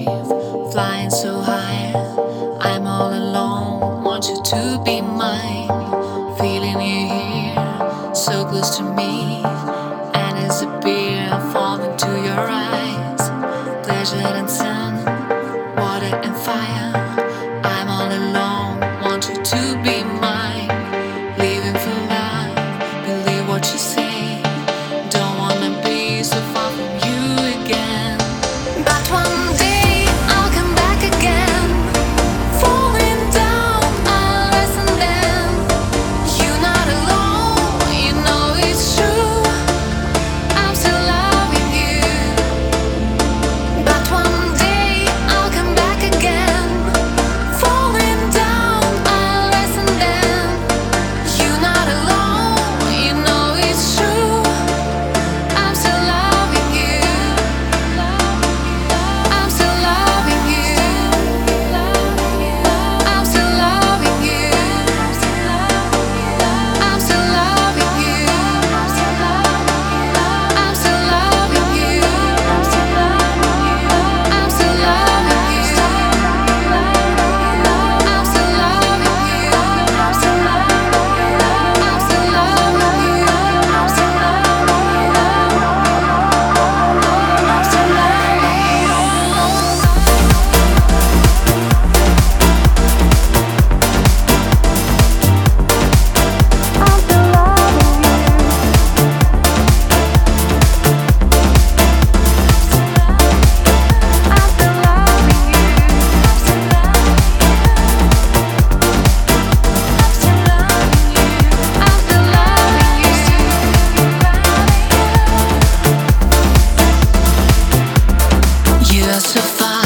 achieve, flying so high. I'm all alone, want you to be mine. Feeling you here, so close to me. And as a beer falling to your eyes, pleasure and sun, water and fire. I'm all alone, want you to be mine. Living for love, believe what you say. Don't wanna be so far from you again. But one day I'll come back again. Falling down, I'll rise and then. You're not alone, you know it's true. I'm still loving you. But one day I'll come back again. Falling down, I'll rise and then. You're not alone, you know it's true. I'm still loving you. I'm still loving you. I'm still loving you. I'm still loving you. I'm still loving you. I'm still loving you. I'm still loving you. I'm still loving you. I'm still You are so far